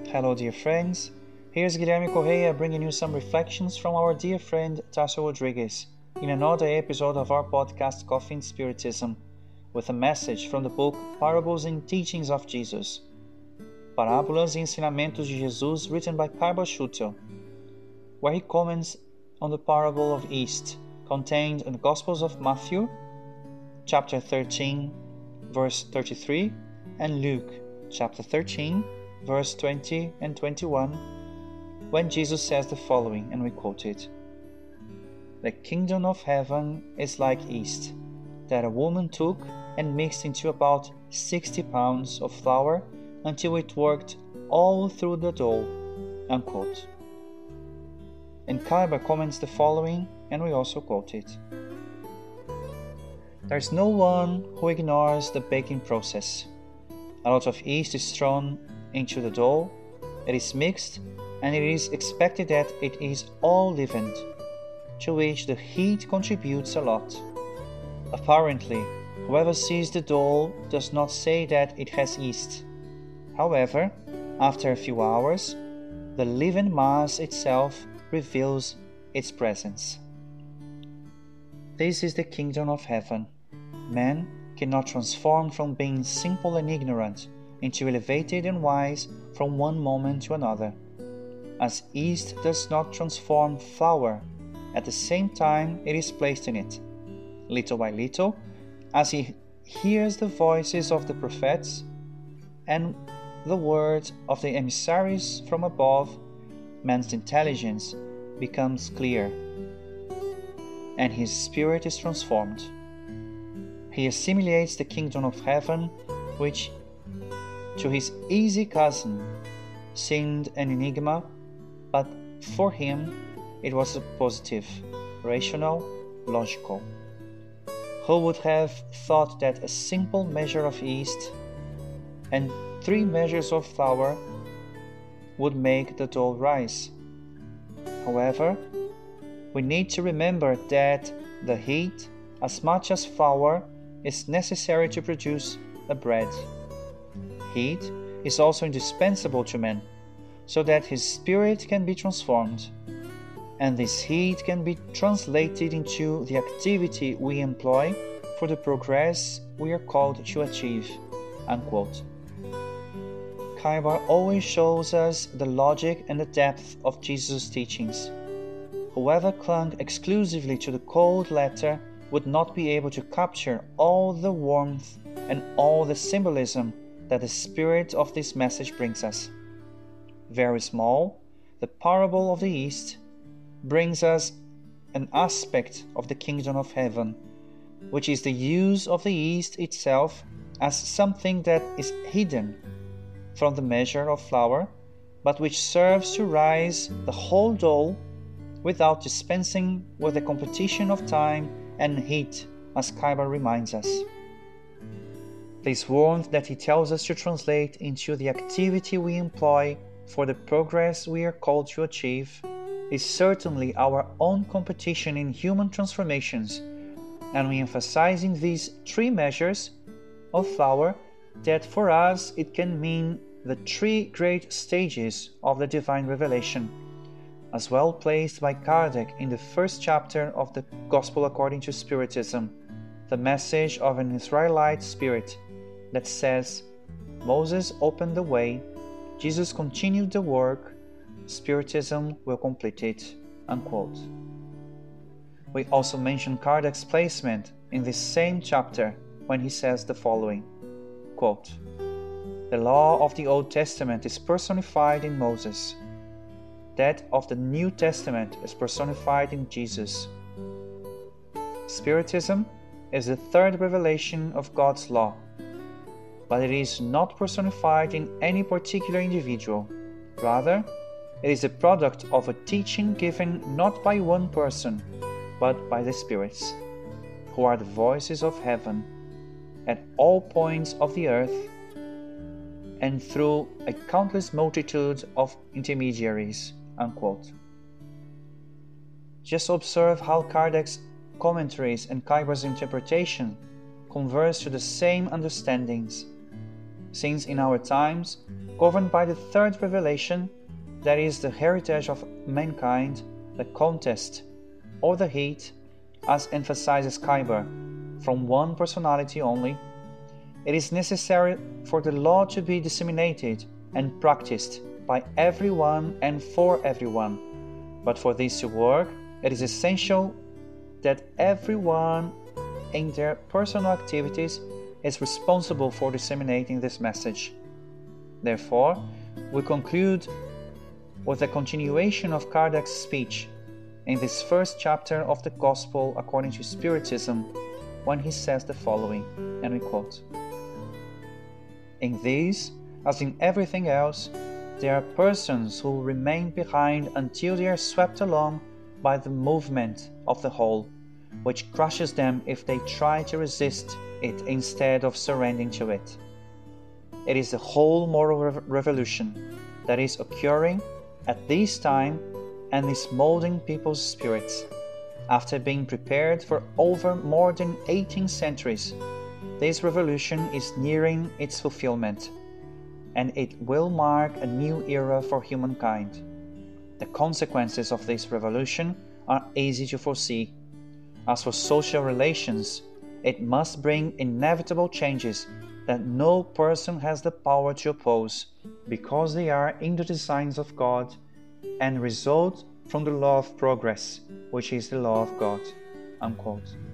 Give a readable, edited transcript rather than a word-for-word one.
Hello dear friends, here's Guilherme Correia bringing you some reflections from our dear friend Tasso Rodrigues in another episode of our podcast Coffee and Spiritism, with a message from the book Parables and Teachings of Jesus, Parábolas e Ensinamentos de Jesus, written by Kaiba Schutel, where he comments on the parable of yeast contained in the Gospels of Matthew, chapter 13, verse 33, and Luke, chapter 13, verse 20 and 21, when Jesus says the following, and we quote it: "The kingdom of heaven is like yeast, that a woman took and mixed into about 60 pounds of flour until it worked all through the dough." Unquote. And Kaiba comments the following, and we also quote it: "There's no one who ignores the baking process. A lot of yeast is thrown into the dough, it is mixed, and it is expected that it is all leavened, to which the heat contributes a lot. Apparently, whoever sees the dough does not say that it has yeast. However, after a few hours, the leavened mass itself reveals its presence." This is the kingdom of heaven. Man cannot transform from being simple and ignorant into elevated and wise from one moment to another. As yeast does not transform flour at the same time it is placed in it. Little by little, as he hears the voices of the prophets and the words of the emissaries from above, man's intelligence becomes clear, and his spirit is transformed. He assimilates the kingdom of heaven, which to his easy cousin seemed an enigma, but for him it was a positive, rational, logical. Who would have thought that a simple measure of yeast and 3 measures of flour would make the dough rise? However, we need to remember that the heat, as much as flour, is necessary to produce a bread. Heat is also indispensable to man, so that his spirit can be transformed, and this heat can be translated into the activity we employ for the progress we are called to achieve." Unquote. Kaiba always shows us the logic and the depth of Jesus' teachings. Whoever clung exclusively to the cold letter would not be able to capture all the warmth and all the symbolism that the spirit of this message brings us. Very small, the parable of the yeast brings us an aspect of the kingdom of heaven, which is the use of the yeast itself as something that is hidden from the measure of flour, but which serves to rise the whole dough without dispensing with the competition of time and heat, as Kaiba reminds us. This warmth that he tells us to translate into the activity we employ for the progress we are called to achieve is certainly our own competition in human transformations, and we emphasize in these 3 measures of flour that for us it can mean the 3 great stages of the divine revelation, as well placed by Kardec in the first chapter of the Gospel according to Spiritism, the message of an Israelite spirit that says, "Moses opened the way, Jesus continued the work, Spiritism will complete it." Unquote. We also mention Kardec's placement in this same chapter when he says the following, quote, "The law of the Old Testament is personified in Moses. That of the New Testament is personified in Jesus. Spiritism is the 3rd revelation of God's law, but it is not personified in any particular individual. Rather, it is a product of a teaching given not by one person, but by the spirits, who are the voices of heaven, at all points of the earth, and through a countless multitude of intermediaries." Unquote. Just observe how Kardec's commentaries and Kaiba's interpretation converge to the same understandings. since in our times, governed by the third revelation, that is the heritage of mankind, the contest, or the heat, as emphasizes Kuyper, from one personality only, it is necessary for the law to be disseminated and practiced by everyone and for everyone. But for this to work, it is essential that everyone in their personal activities is responsible for disseminating this message. Therefore, we conclude with a continuation of Kardec's speech in this first chapter of the Gospel according to Spiritism, when he says the following, and we quote, "In these, as in everything else, there are persons who remain behind until they are swept along by the movement of the whole, which crushes them if they try to resist it instead of surrendering to it. It is the whole moral revolution that is occurring at this time and is molding people's spirits. After being prepared for over more than 18 centuries, this revolution is nearing its fulfillment, and it will mark a new era for humankind. The consequences of this revolution are easy to foresee. As for social relations, it must bring inevitable changes that no person has the power to oppose, because they are in the designs of God and result from the law of progress, which is the law of God." Unquote.